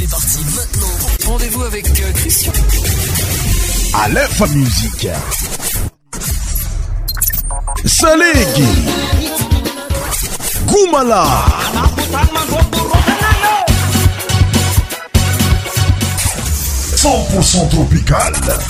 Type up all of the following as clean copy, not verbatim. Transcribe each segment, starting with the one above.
C'est parti maintenant. Rendez-vous avec Christian. Aleph Musique. Salegi. Goumala. 100% tropical.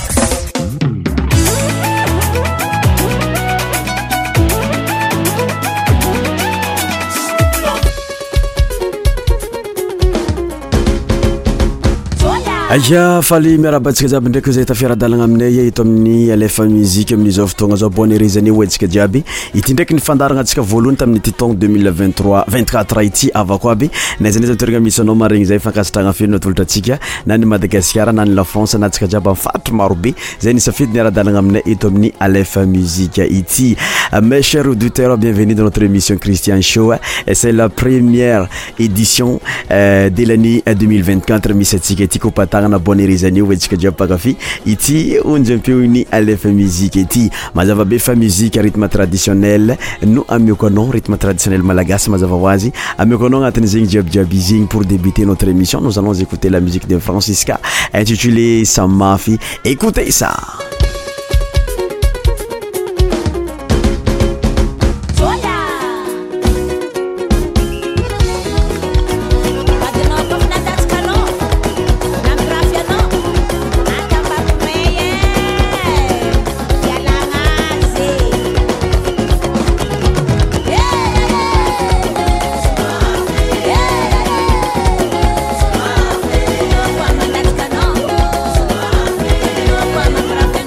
Aja faly miarabantsika jiaby ndraiky zay tafiaradalagna aminay eto amin'ny Alefa Musique amin'izao fotoagna zao bonne heure ho antsika jiaby ity ndraiky ny fandaragna antsika voalohany tamin'ny titon 2023-24 ity avako aby na izy ndraiky toerana misy anao maregny zay fankasitragna feno natolotra atsika na ny Madagascar na ny La France na antsika jiaby mifatry maro be zay ny safidy ny aradalagna aminay eto amin'ny Alefa Musique ity. Mes chers auditeurs, bienvenue dans notre émission Christian Show. C'est la première édition de l'année 2024 misy atsika ity na bonne heure wetsika jiaby pakafi ity onjampiony Alefa Musique ity mazava be fa musique rythme traditionnel no amioko anao rythme traditionnel malagasy mazava hoazy amioko anao agnatin'ny zegny jiaby zegny pour débuter notre émission nous allons écouter la musique de Francisca intitulée Samafi. Écoutez ça. Para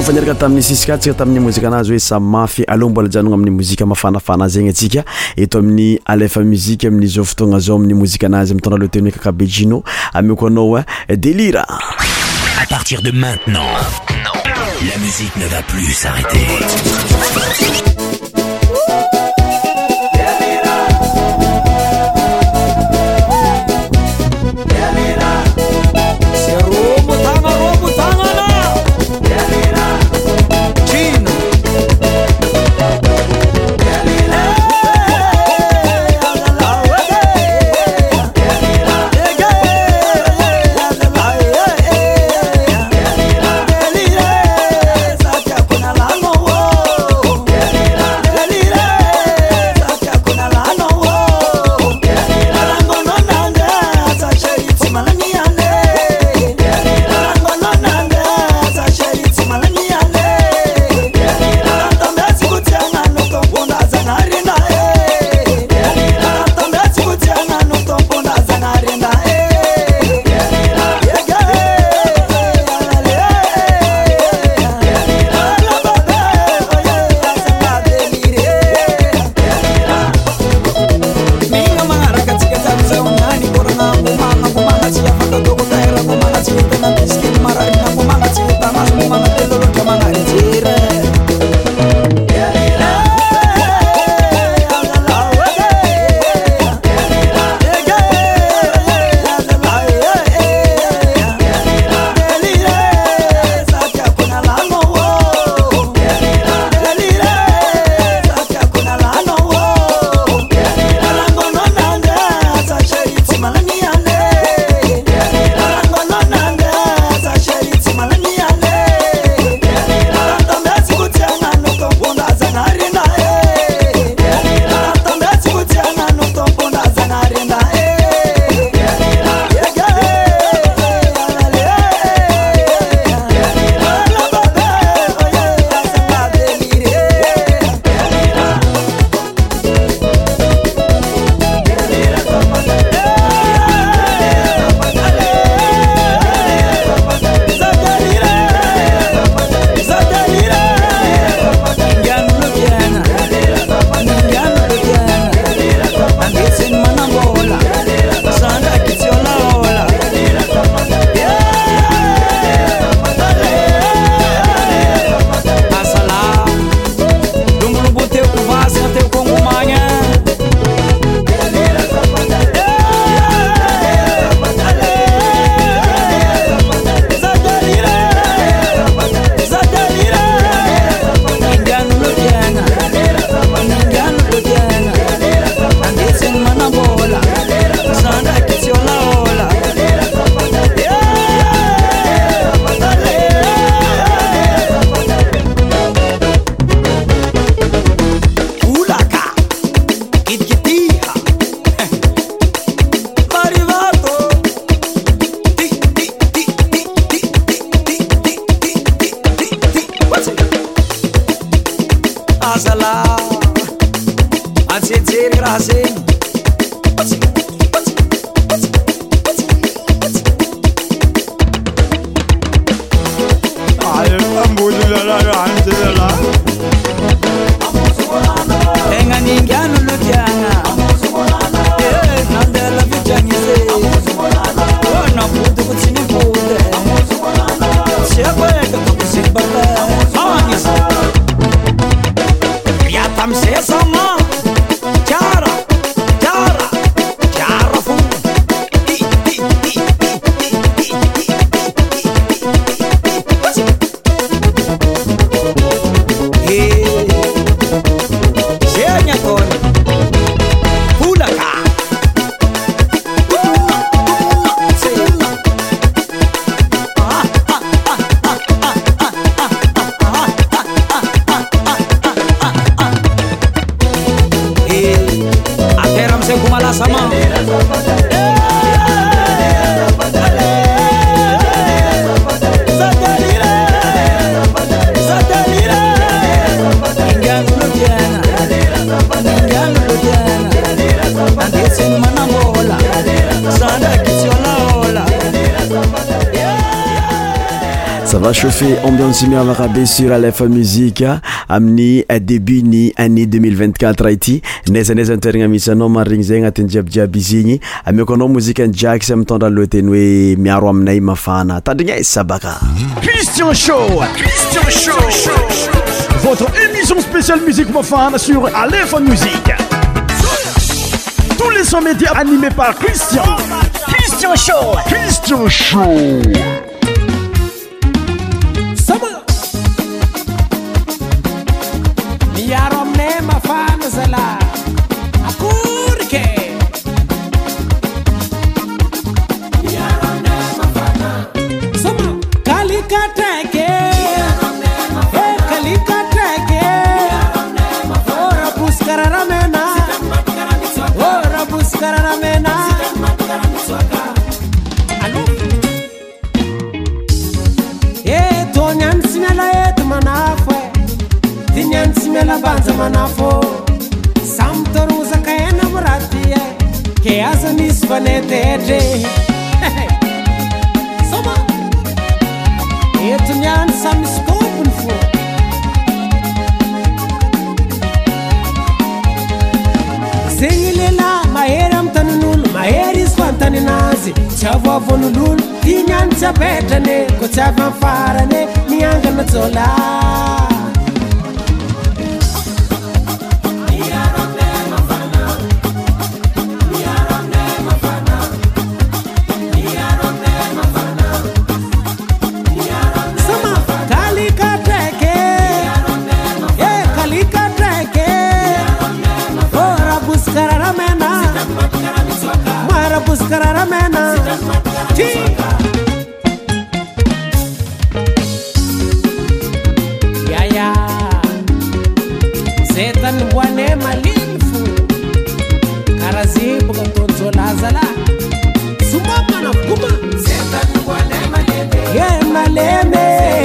mifanaraka tamin'ny sisika tsika tamin'ny mozika anazy hoe samafy aloha mbola janogna amin'ny mozika mafanafana zegny atsika eto amin'ny alefa musique amin'ny zao fotoagna zao amin'ny mozika anazy mitondra le teny kakabejino ameko anao délire. À partir de maintenant, la musique ne va plus s'arrêter. Ça va chauffer ambiance miavaka be sur Alefa Musique amin'ny début ny année 2024 ity nezaneza toeragna misy anao marigny zay agnatin'ny jiabijiaby izy igny amiako anao mozika ny Jax mitondra lohateny hoe miaro aminay mafana tandrigna sabaka Christian Show votre émission spéciale musique mafana sur Alefa Musique. Tous les 100 médias animés par Christian Show. Yaromne mafana zala akurke yaromne mafana sama kalikatake kalikatake ora buskararamena alo tonyan simela etmanafo Dinyan simela banza manafo Samtoru zakayana muratia Ke azanis vaneteje Soma Etunyan samiskopun fo Zingilela maheram tanunul Maheris fantaninazi Chava vonulul Dinyan chapetane Ko chava farane Miangana zola Buskararamena ya setan wane malinfu karazibu katonzo lazala sumama na kuma setan wane maleme ye maleme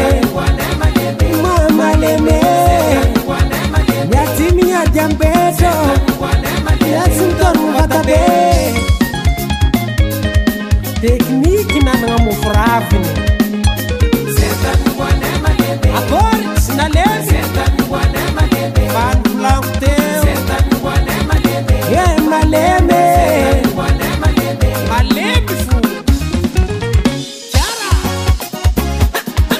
maleme yatimi ya jambeto yasintoru vatabe Technique na nga mufravini Setan wane malebe Akor sinalebe Setan wane malebe Van flankuteo Setan wane malebe Ye malebe Setan wane malebe Malebe fu Chara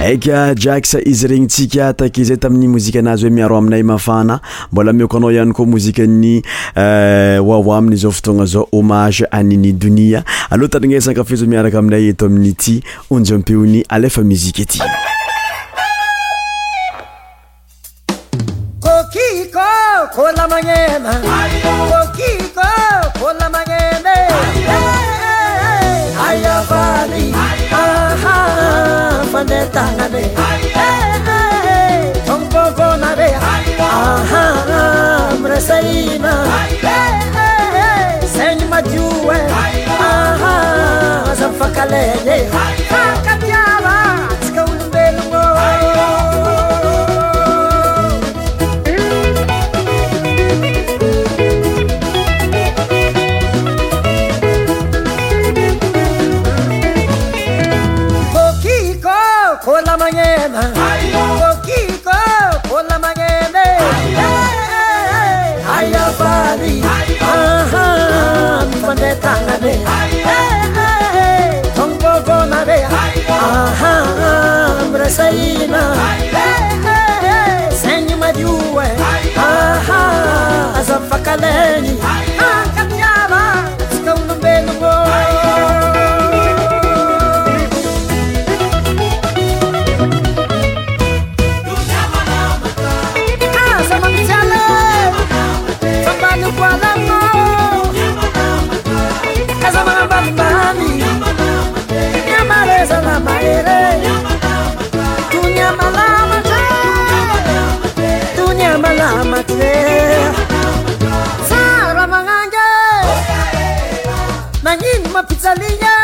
aika Jax izy regny tsika takizay tamin'ny mozika anazy hoe miaro aminay mafana mbola mioko anao ihany koa mozikany Wawa amin'izao fotoagna zao hommage à Nini Dunia aloha tanignesana kafizo miaraka aminay eto amin'ny ity onjam-peony alefa muzika ety Kokiko kola mangena Kokiko kola mangena Ayavali aha pandetangane Tompobonare aha mresaina Senyi majue aha zamfakaleye Kakatiava tskaulubelungo Kola mangena Kokiko kola mangena Ayavali aha pandetangane Tompobonare aha mresaina Senyi majue aha zamfakaleni Kakatiava tskaulubelungo Sara manganga Nangin mapizzalia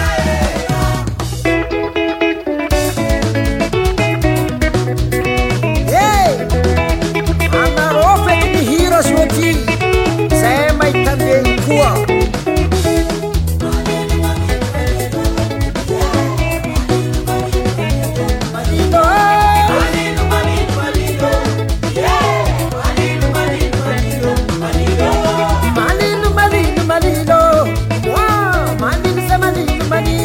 Hey Anarofe ni hiro shoti Sema itande kuwa Malino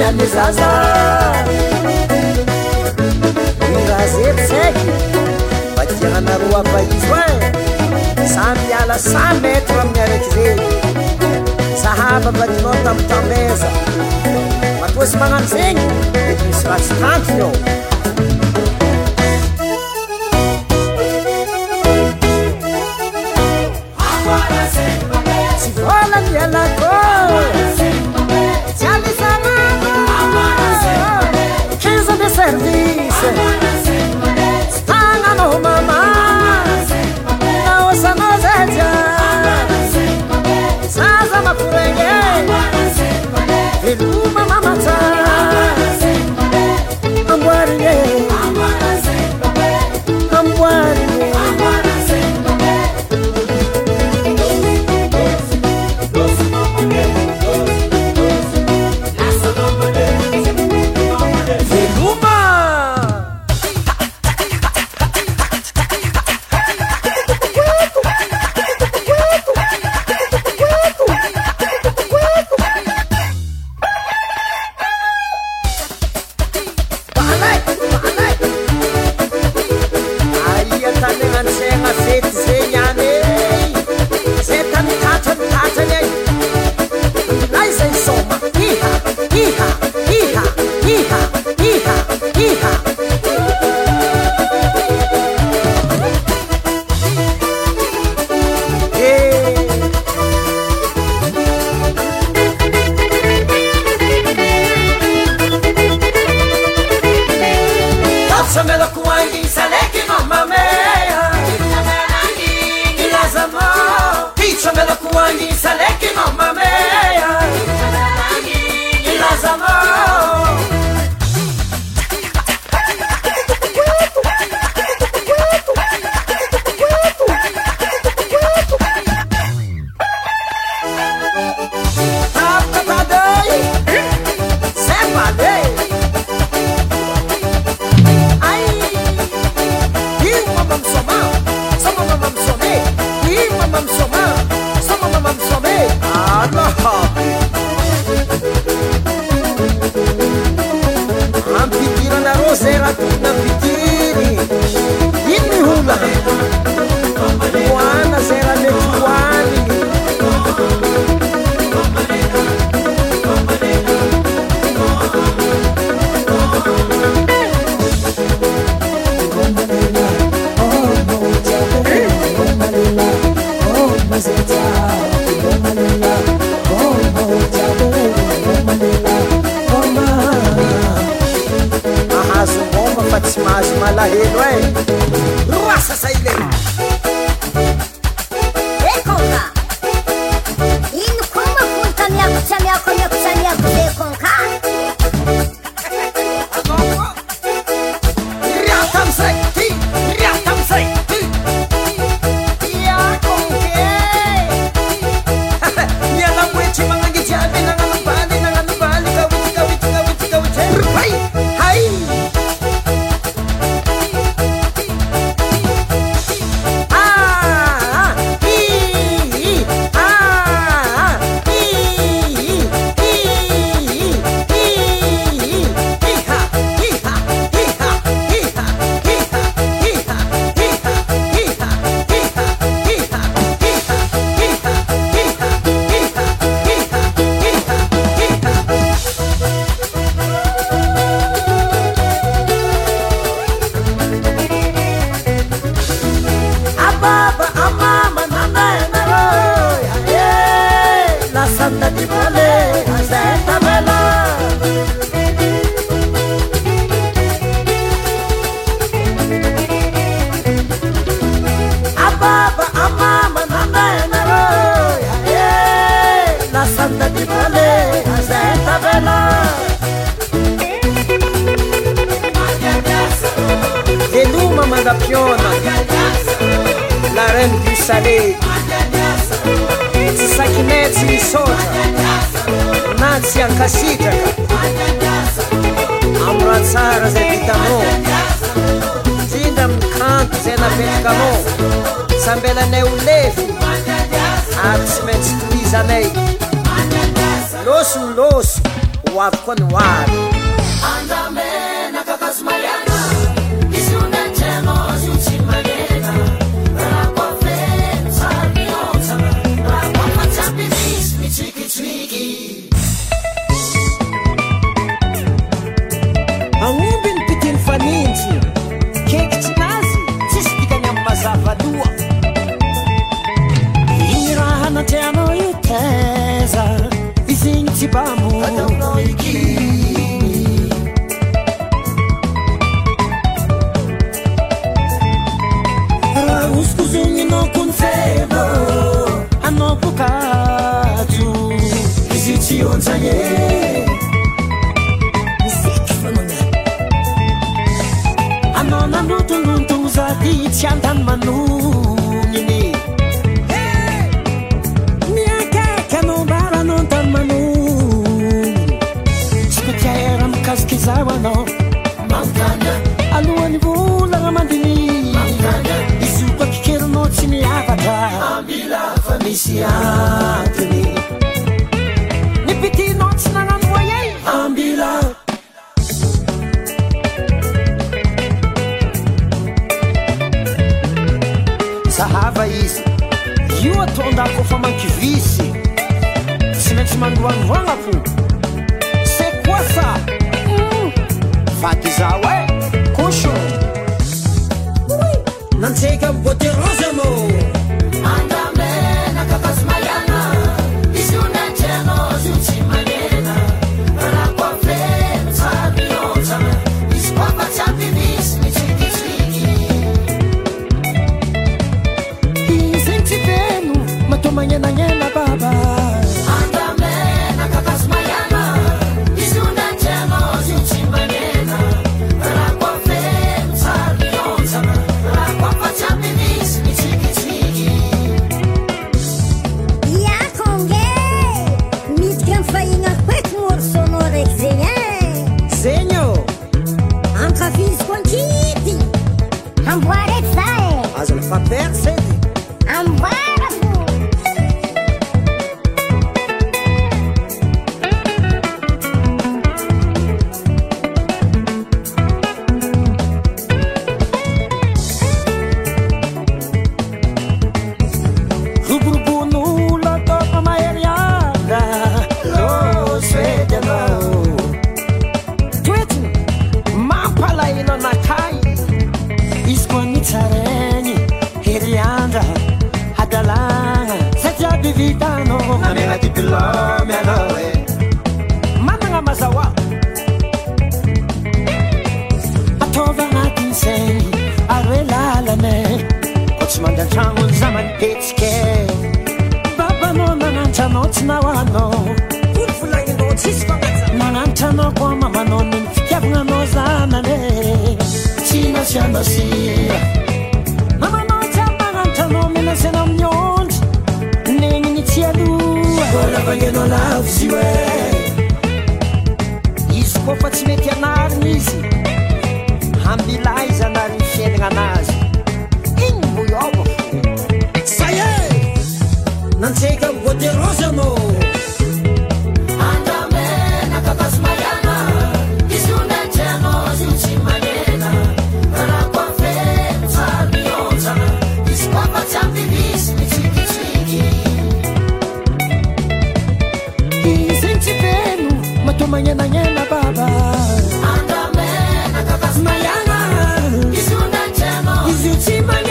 any zaza irazetseky vadianareo abaizo samby ala 100 metre amin'ny araiky zeny sahaba vadinao tamtameza matoasy magnano zegny misy ratsy tantiny ao tsy vola mialako tiali sanano 15 de service tsy tagnanao mama naosanao zaja zaza makorenge veloma mamata amboarine amboarine La reine du salé Sakineti Misota Nancy Ankasitraka Amratsara zay vitanao Tindra amin'ny kanto zay napetrakanao Sambelanay ho lefy Ary tsy maintsy tohizanay Loso ho avy koa ny hoavy aomby ny pitiny fanintsy kekitsinazy tsisy dikany amin'ny mazavadoa igny raha natreanao iteza izigny tsy bamo ataonao ikiny raha oskozogny anao kony febo anao bokajo izy tsy onjagny anao nanotolontogno zady tsy andany manogniny miakaiky anao mbaranao antany manogniny tsy kotiaera mikasiky zao anao mangana alohan'ny volagna mandiny izy io koa kikerinao tsy miavatra ambila fa misy antony ny pitinao tsy nanano voyey ambila sahava izy io atondako fa mankivisy tsy maintsy mandroandroagna fo c'est quoi ça vaky zao e cocho nantseka bote rose anao andamena kapazy maiana izy io nantianao zy io tsy manena raha koa feno tsary mionjana izy koa fa tsy ampimisy mitsikitsiky izegny tsy feno matao magnenanena baba andamena kapazy maiana izy io nantianao zy io tsy manena raha koa feno tsary mionjana raha koa fa tsy ampimisy mitsikitsiky iakonge midika ny fahigna koeky morsonao raiky zegny e zegny ô ankafiziko ankity amboara eky za e aza lafa perse edy amboara fo ruburubun'olo ataoko maheriana losedy anao toetiny mampalahelo anakay izy koa nitsaregny heriandra hadalagna satria be vitanao namena diplôme anao e managna mazahoa ataova agnatiny zegny aroe lalane ko tsy mandantragno za manipetsike babanao nanantranao tsy nahoanao olo volagninao tsisy fanaja nanantranao koa mamanao ny fitiavananao zanane tsy nasianao sia mamanao tsy amanantranao menasena amin'ny ondry negny ny tsy aloha volavagninao lavo zy oe izy koa fa tsy mety anariny izy ambila izy anariny fiainagna anazy igny mboyobo saye nantseka bote rose anao andamena kapazy maiana izy io nantianao zy io tsy manena raha koa feno tsary mionjana izy koa fa tsy ampimisy mitsikitsiky izegny tsy feno matao magnenanena baba andamena kapazy maiana izy io nantianao izy io tsy manena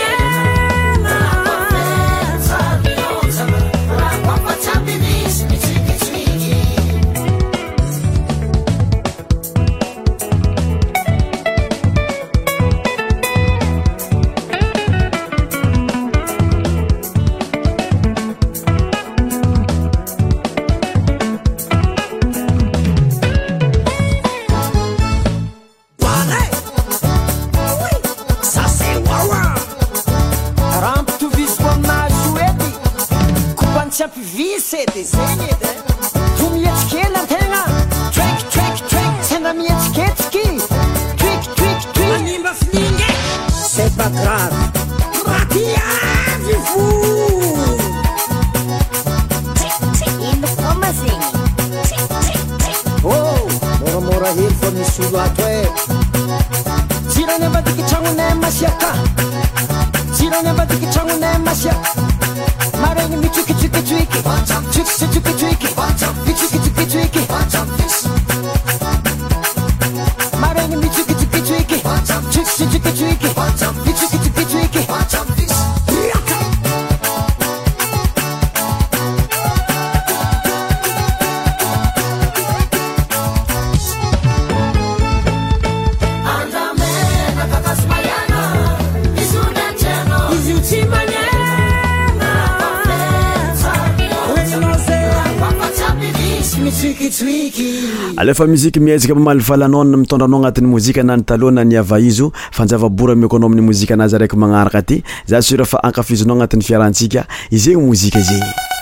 Visete zegny edy vo mietsikely antegna trek trek trek sena mietsiketsiki twik twik twik manimba finingy c'est pas grave makiavy fo ino koma zegny oh solo ato e tsirany ambadiky tragnonay masiaka tsirany ambadiky tragnonay masiaka maregny mitsikitsikitsioiky tsikitsitsikitsioiky mitsikitsikitsioiky maregny mitsikitsikitsioiky tsikitsitsikitsioiky mitsikitsikitsioiky alefa muzika miezaka mamalifalanao mitondranao agnatin'ny mozika nany taloha na niava izo fanjavabora meko anao amin'ny mozika anazy araiky magnaraka ty za sura fa ankafizinao agnatin'ny fiarantsika izegny mozika zegny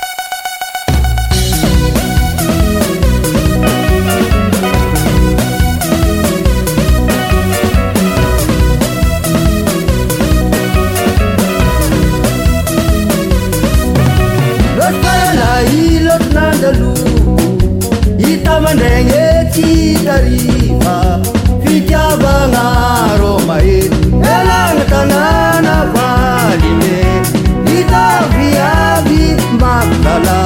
Mandengeti tarifa fitiavanga romae elanga tanana valine itaviavi magdala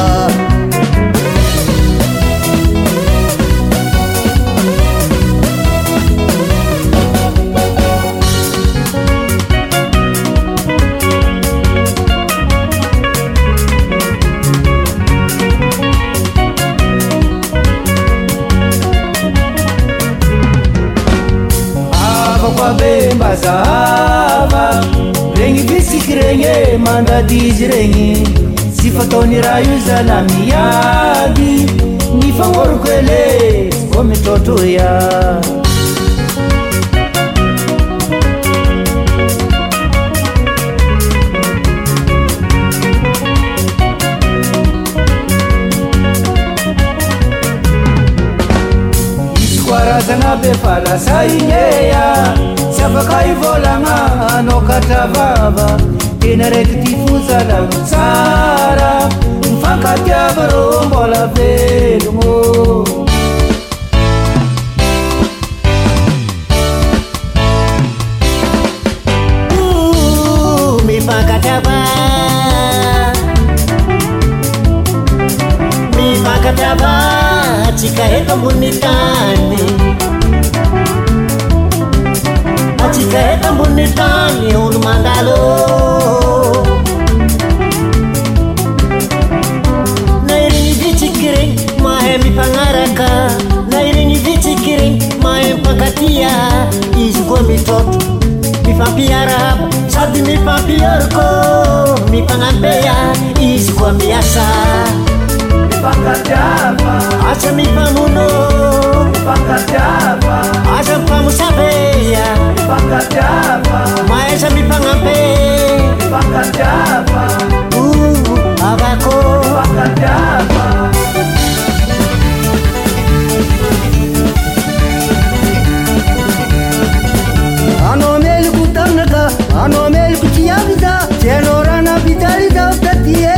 Mbazava regny visiky regny mandadizy regny sy fataony raha io zala miady ny fagnôroko ele vo mitrôtro ya izy koarazana be falasa igneya afaka ivolagna anao katravava tena raiky ty fozalagno tsara mifankatiava rô mbola velogno mifankatiava mifankatiava tsika eto ambony tany atsika eto ambony tany olo mandalo na irigny vitsiky regny mahay mifagnaraka na irigny vitsiky regny mahay mifankatia izy koa mitrôtro mifampiaraba sady mifampioroko mifagnambeya izy koa miasa mifankatiava asa mifamono mifankatiava asa mifamosabeya mifankatiava maesa mifagnabe mifankatiava avako mifankatiava anao meloko tagnaka anao meloko tiaviza tsy anao rana vitaliza tatie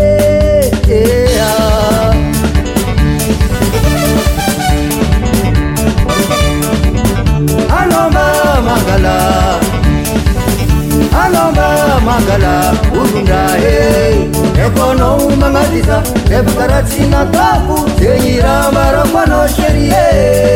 Alomba magala ulundae ekono mangadiza ebukaratsina taku zenyira marakwano sherie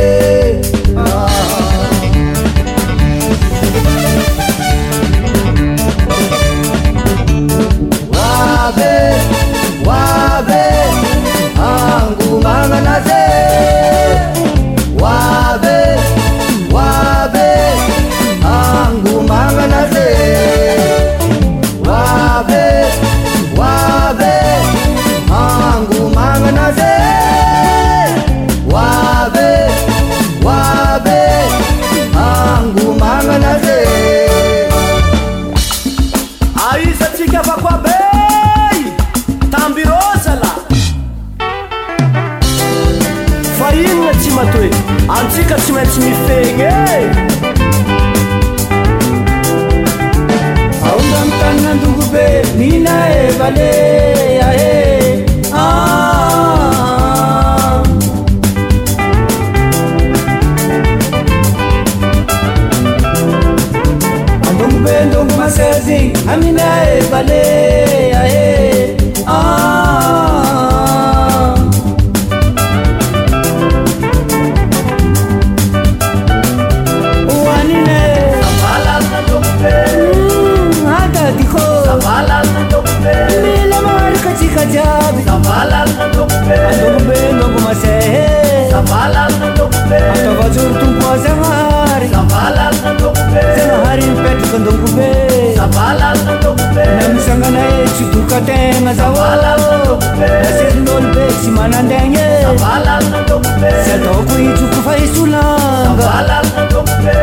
wabe wabe angu manganaze wabe wabe angu manganaze wabe wabe angu manganaze wabe wabe angu manganaze aisa tsika vakwabei tambirosala fa inona tsy matoe antsika tsy maintsy mifegny aomba mitanina andongo be mina evale ahe amina e bale ae wanine sabalana dokbe ada dikho sabalana dokbe mila mar katika jabi sabalana dokbe dokbe logo mase sabalana dokbe to vazur tu pozamari sabalana dokbe hari pet kondokbe sabalana dokbe namsangana chiduka tenga sabalana dokbe sendol be simanandenge sabalana dokbe seto kuichu kufaisulanga sabalana dokbe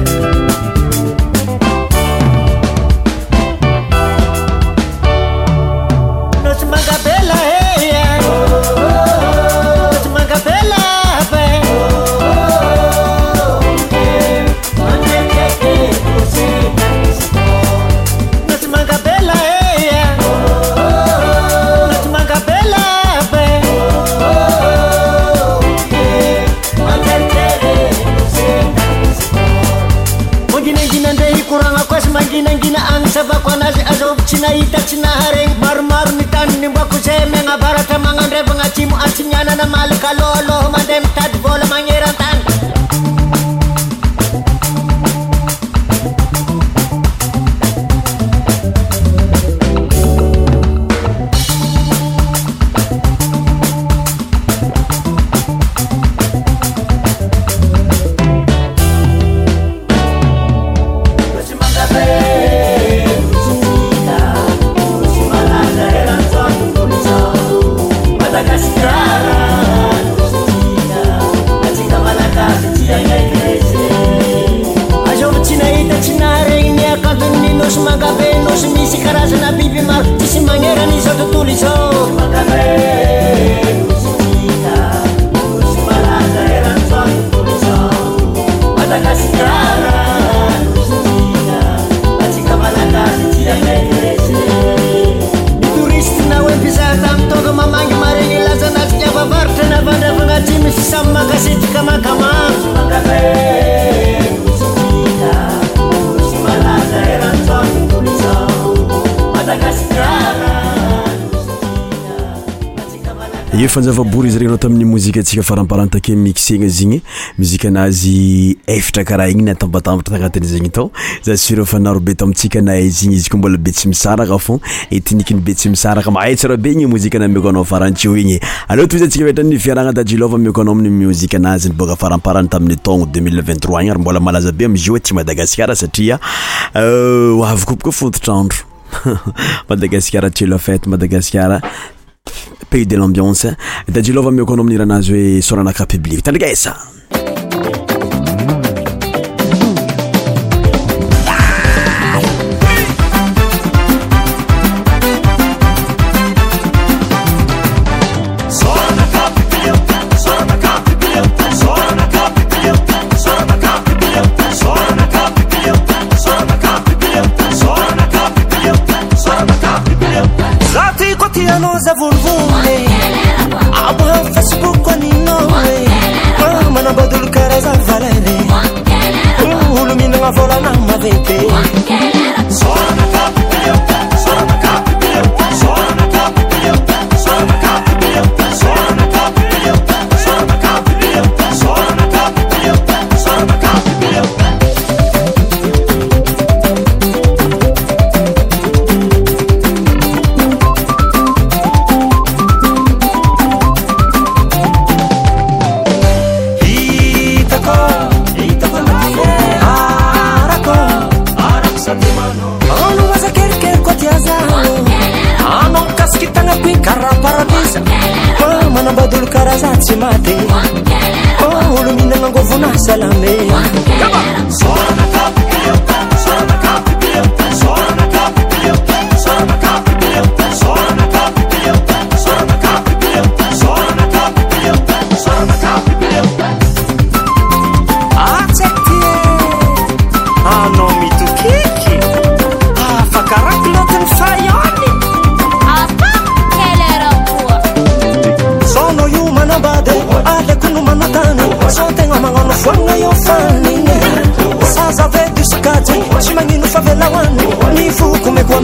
Mar-mar ni tan ni baku seme ngabarata mangandre bangacimu asinyana na malika lolo mandem tad bola mangeran tan fanjavabory izy regnao tamin'ny mozika atsika faramparantake mixegna zigny muzika anazy efatra karaha igny natambatambatra tagnatiny zegny tao za sura fanaro be tamitsika na izigny izy ko mbola be tsy misaraka fô etnikiny be tsy misaraka mahay tsara be igny muzika na mioko anao farantsio igny allo toizy atsika vetrany fiaragna Dadjilova mioko anao amin'ny muzika anazy niboaka faramparany tamin'ny taogno 2023 igny ary mbola malaza be amizio aty Madagasikara satria avy koa fototrandro Madagasikara tu la fête Madagasikara pays de l'ambiance Dadjilova mioko anao amin'ny ranazy hoe soranaka public tandrigesa Za vulvule Aba Facebook kwa ninowe Mana badul karaza valere Ulu mina nga vola na mavete Sola na kapi pilioka Sola na kapi pilioka Sola na kapi pilioka Sola na kapi pilioka Sola na kapi pilioka Sola na kapi pilioka Sola na kapi pilioka Sola na kapi pilioka Karazatsi mate Oh, ulu minang ngovuna salame Sola na kapi pilioka Sola na kapi pilioka Sola na kapi pilioka Sola na kapi pilioka Sola na kapi pilioka Sola na kapi pilioka Sola na kapi pilioka Sola na kapi pilioka Acceptie no mitu kiki Fakarak loten fayoni Bade, ale kunu manatane Sotenga mangono fwanga yo fani Saza vedu skati Shimanginu favela wani Nifu kumekwa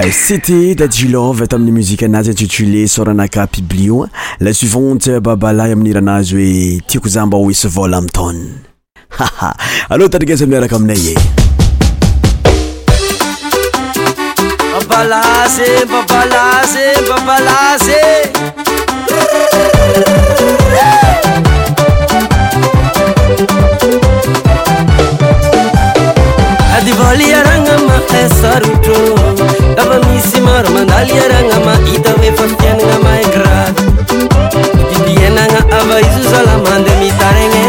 C'était Dadjilov tamin'ny musique anazy intitulé Soranaka Piblio. La suivante Babalay amin'ny ranazy hoe tiako za mba ho hisy vola amin'ny taona. Allo tadrigasa miaraka aminay e. Babalaze, babalaze, babalaze. Adi voli arangama esarutro. Dava misi maro mandali arangama ita ve fafiana ma e grad. Di biena nga ava isu salamande mi tarenge.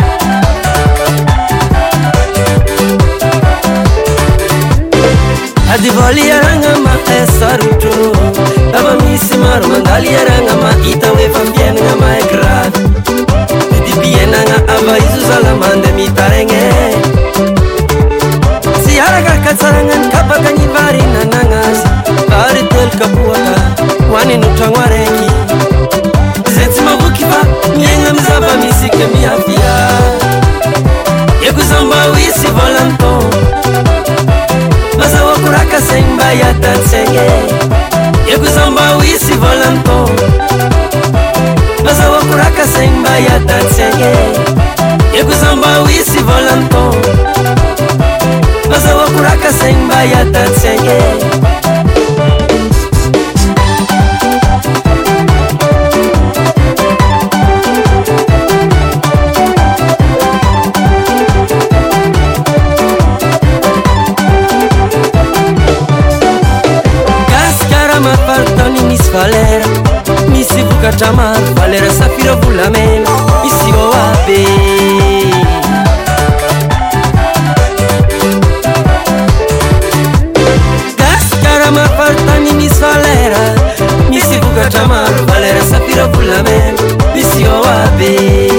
Adi voli arangama esarutro. Dava misi maro mandali arangama ita ve fafiana ma e grad. Di biena nga ava isu salamande mi tarenge. Araga katsarangan kapakani vari nanangas vari tel kapuaka wani nutangwareki zetsi mabukiva nyenga mzaba misike miafia yekuzamba wisi volanto maza wakuraka semba ya tatsenge yekuzamba wisi volanto maza wakuraka semba ya tatsenge yekuzamba wisi volanto Maza wakuraka semba ya tatsenge Gaskara mapartoni mis valera Misi buka chamar valera safiro vulamena Misi oabe Mapartani mis valera Misi buga chamar valera safiro pulamen Misi oabe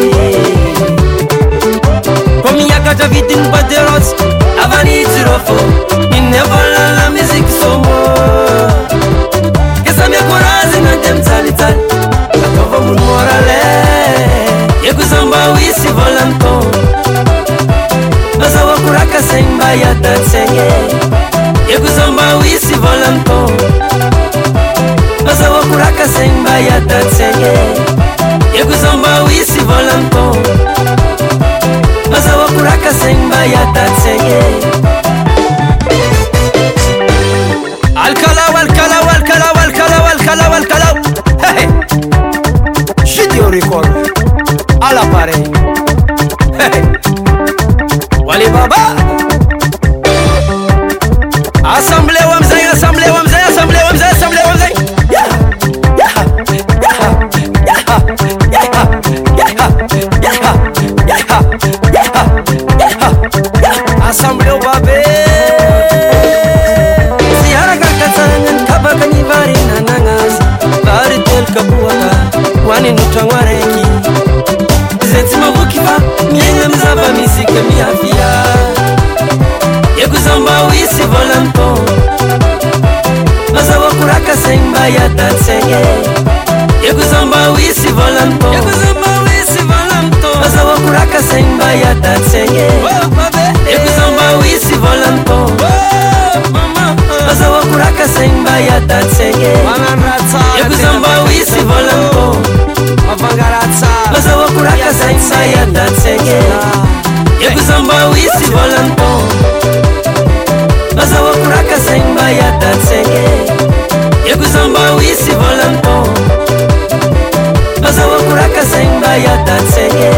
Komi yakata vitin paterots Avani zirofo Minne vola la musique somo Kesa mia korazi na dem tali tali Katova mun morale Yekuzamba wisi volanto Maza wakuraka semba ya tatsenge Yekuzamba wisi volanto Maza wakuraka semba ya tatsenge Yekuzamba wisi volanto Maza wakuraka semba ya tatsenge Alkala walkala walkala walkala walkala walkala Hey Shidio record A la pareil Hey Wali baba Assemblée Wamzay, assemblée Wamzay, assemblée Wamzay, assemblée Wamzay. Assemblée Wabe. Siara kakatsangan kabakani vari nanangas. Vari tel kapuaka, wani nutangwareki. Zetima bukiva, mienga mzaba misike miafia. Yekuzamba wisi volanto Maza wakuraka semba ya tatsenge Yekuzamba wisi volanto Yekuzamba wisi volanto Maza wakuraka semba ya tatsenge Yekuzamba wisi volanto Maza wakuraka semba ya tatsenge Yekuzamba wisi volanto Maza wakuraka semba ya tatsenge Yekuzamba wisi volanto Maza wakuraka semba ya tatsenge Yekuzamba wisi volanto Maza wakuraka semba ya tatsenge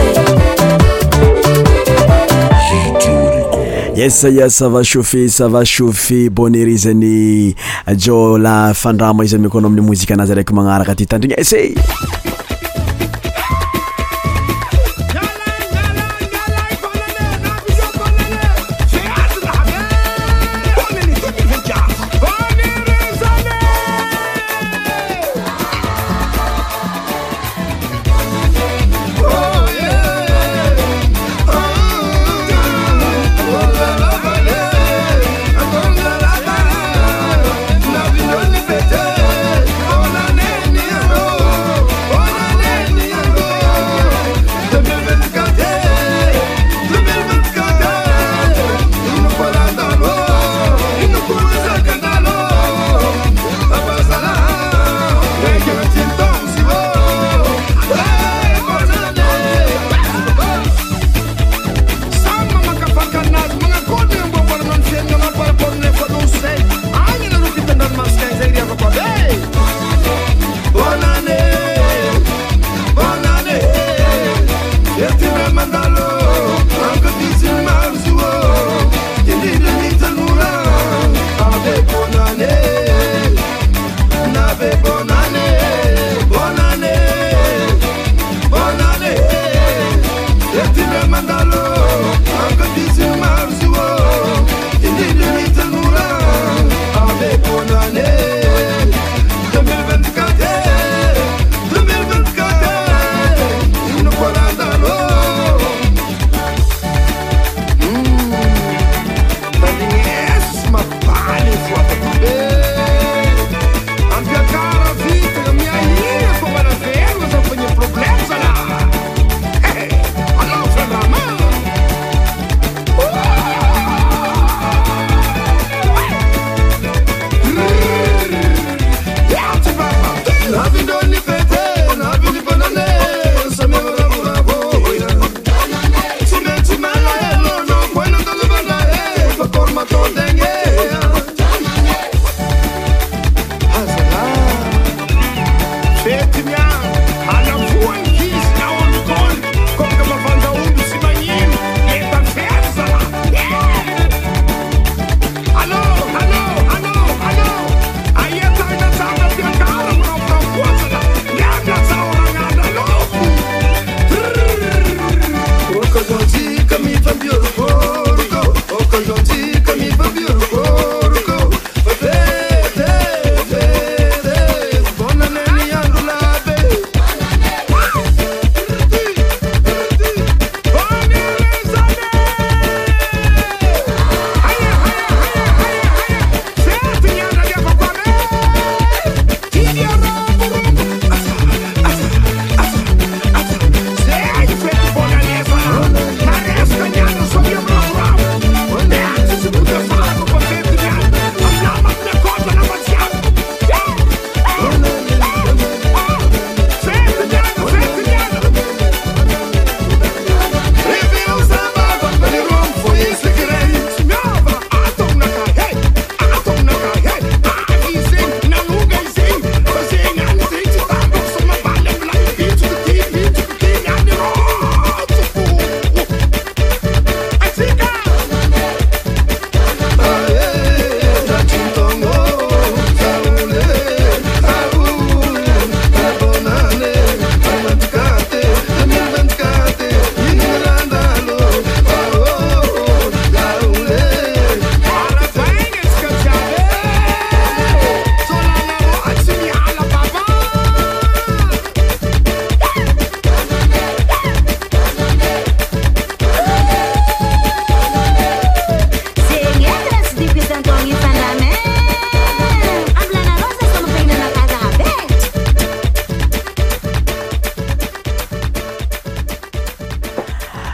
Yes, ça va chauffer bonerizany jo la fandrama izany mikono amin'ny muzika anazy araiky magnaraka ty tandrigna essay Oh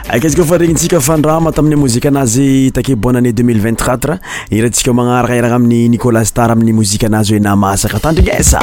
akaizyka fa regnintsika fandrama tamin'ny mozika anazy take bonne année 2024 irantsika magnaraka iragna amin'ny Nicolas Star amin'ny mozika anazy hoe namasaka tandringesa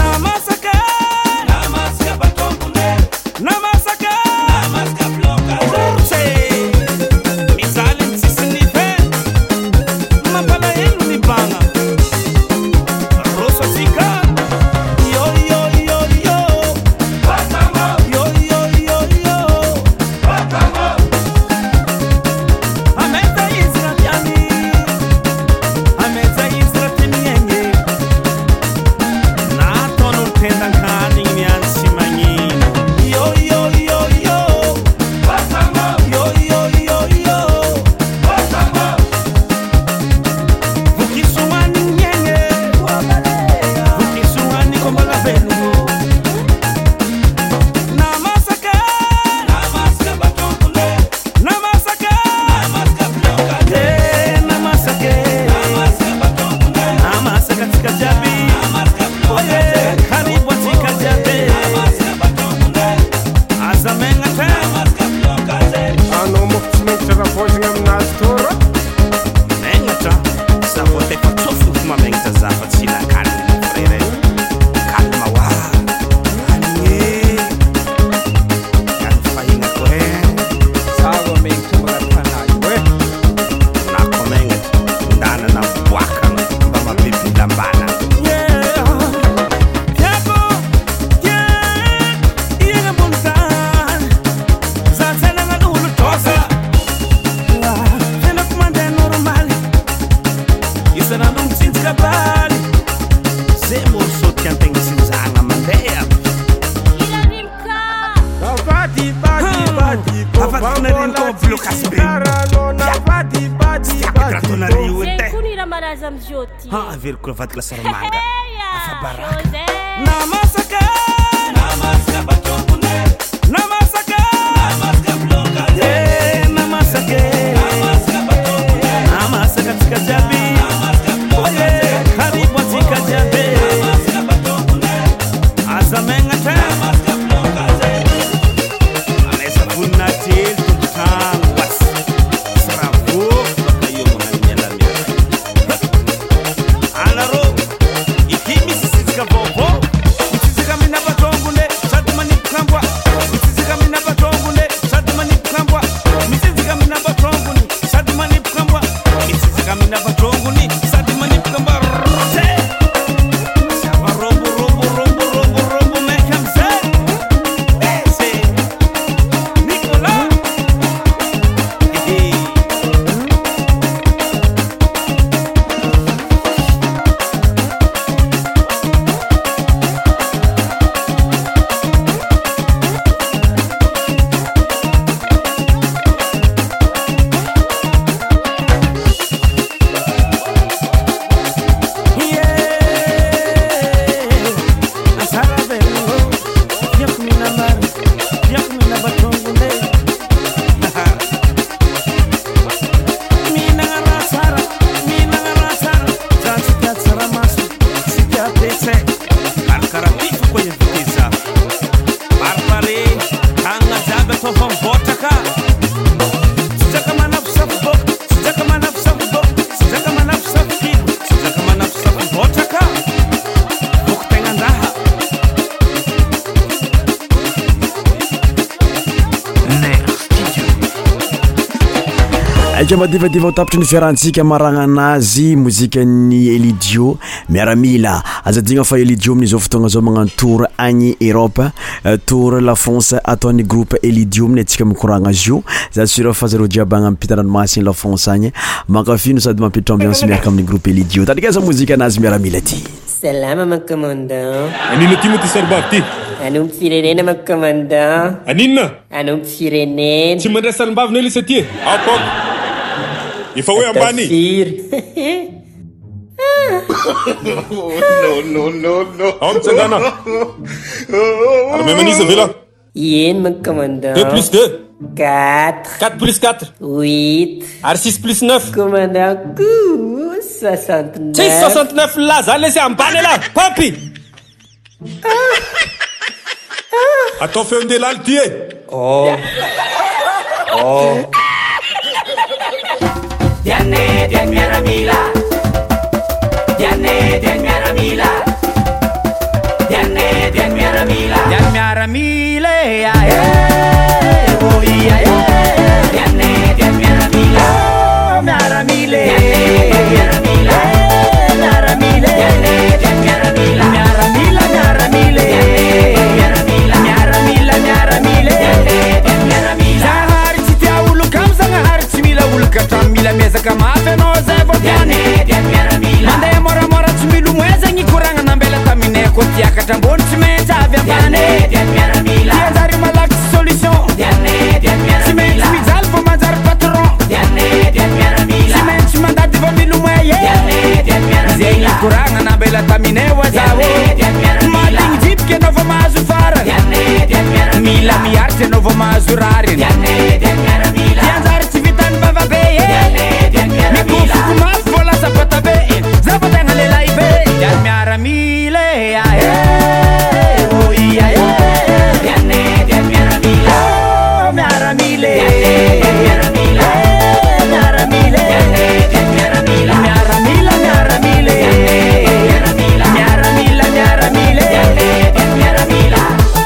Vatla sarmanga afabaraka namasaka batongune namasaka bloka namasaka batongune namasaka tikajabi oye karibu tikajabi batongune azamenga namasaka bloka alesa funati tangwas sarafu kayo manyela Madivadiva tapitry ny fiarantsika maragna anazy mozikany Elidio miaramila azadigna fa Elidio amin'izao fotoagna zao magnano tour agny Europe tour la France ataony groupe Elidio amin'ny atsika mikoragna azy io za sura fa zaro jiaby agnampita ranomasiny la France agny mankafino sady mampitry ambiance miaraka amin'ny groupe Elidio tandrikasa mozika anazy miaramila ty salama makomandant anina ty mo ty saribavy ty anompo firenena makomandant aninona anompo firenena tsy mandray salim-bavy lisa ty apoko efa hoe ambany no ao mitsangana ary memanisa ve là yen mon commandant 2 plus 2 4 4 plus 4 8 ary 6 plus 9 commandant 69 69 là za laissé ambany là papi atao feondelala ty e Diane, Diane Miaramila. Diane, Diane Miaramila. Diane, Diane Miaramila. Diane Miaramila, oh yeah, Diane, Diane Miaramila. Oh, Miaramila. Miaramila. Miaramila. Diane, Diane Miaramila. Miaramila, Miaramila. Miaramila. Miaramila, Miaramila. Diane, Diane Miaramila. Zahari chitia ulu kam zahari chimila ulu katamila meza kama feno zevo Diane, Diane Miaramila. Mande mora mora chimilu mweza nyikuranga na mbele tamine kotia katambon chimeta avya Diane, Diane Miaramila. Diane malak solution. Diane, Diane Miaramila. Chimizal fo mazar patron. Diane, Diane Miaramila. Chimandati vo milu mweye. Diane, Diane Miaramila. Zenyi kuranga na mbele tamine wazawo. Maling jeep ke novo mazufara. Diane, Diane Miaramila. Mila miarte novo mazurari. Diane, Diane Miaramila. Diane chivitan bava beye. Diane, Diane Miaramila. Mikufu kumas vola zapata beye. Zapata ngalela ibe. Diane Miaramila. Oh yeah, Diane, Diane Miaramila. oh Miaramila. Miaramila. Miaramila. Diane, Miaramila. Miaramila, Miaramila. Miaramila, Miaramila. Diane, Miaramila.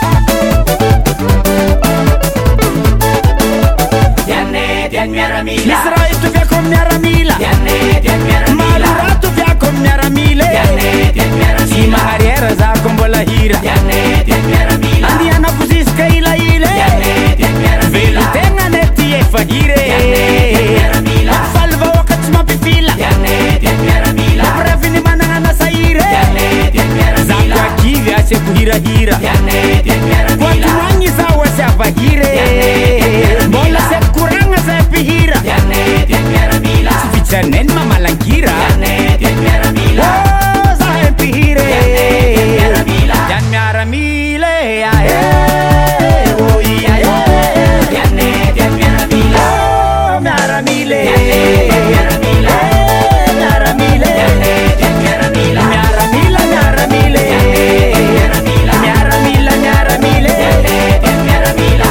Diane, Diane Miaramila. L'Israël tu viens comme Miaramila. Diane, Diane Miaramila. Malura tu viens comme Miaramila. Diane, Diane Miaramila. Si magariera za como la hira. Diane, Diane Miaramila. Andiana fuziska ila ile. Diane, Diane Miaramila. Velu tenga neti e fagire. Diane, Miaramila. Salva wakati mapifila. Diane, Diane Miaramila. Previni mananga na saire. Diane, Diane Miaramila. Zakwa kivi ase kuhira hira. Diane, Diane Miaramila. Kwa tuwanyi za wase afagire. Bola se kuranga se pihira. Diane, Diane Miaramila. Fichanen mamalangira. Diane, Diane Miaramila. Oh, za pihire. Diane, Miaramila. Diane Miaramila. Oh yeah, Diane, Diane Miaramila. Oh, Miaramila. Miaramila. Miaramila. Diane, Diane Miaramila. Miaramila, Miaramila. Miaramila, Miaramila. Diane, Miaramila.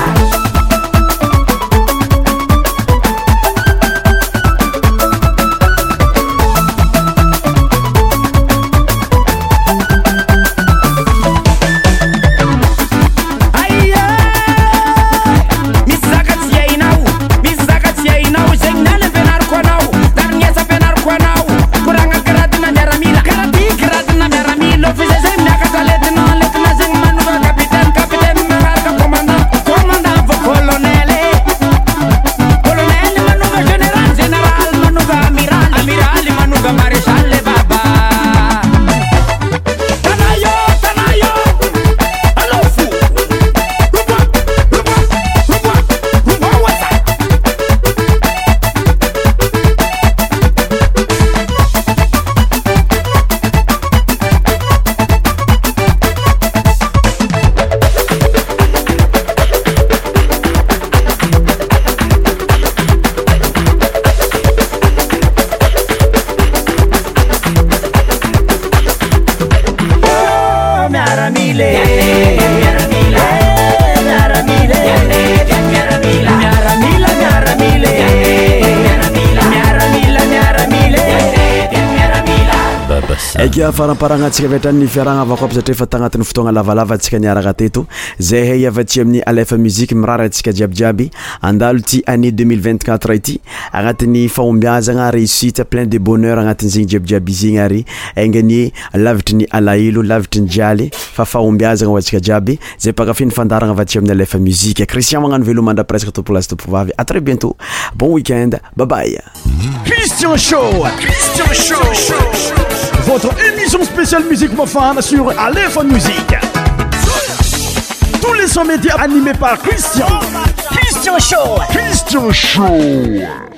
Eka faramparagnatsika vetrany fiaragna avako aby satria fa tagnatin'ny fotoagna lavalava atsika niaraka teto zay hay avatsy amin'ny Alefa Musique mirara atsika jiabijiaby andalo ty année 2024 ity agnatin'ny fahombiazagna réussite plein de bonheur agnatin'ny zegny jiabijiaby zegny ary aingany lavitry ny alahelo lavitry ny jialy fa fahombiazagna ho atsika jiaby zay pakafiny fandaragna avatsy amin'ny Alefa Musique. Christian magnano velo mandra presque to place to povavy. À très bientôt, bon week-end, bye bye. Christian Show. Christian Show. Votre émission spéciale musique profane sur Alefa Musique. Tous les sons médias animés par Christian. Christian Show. Christian Show.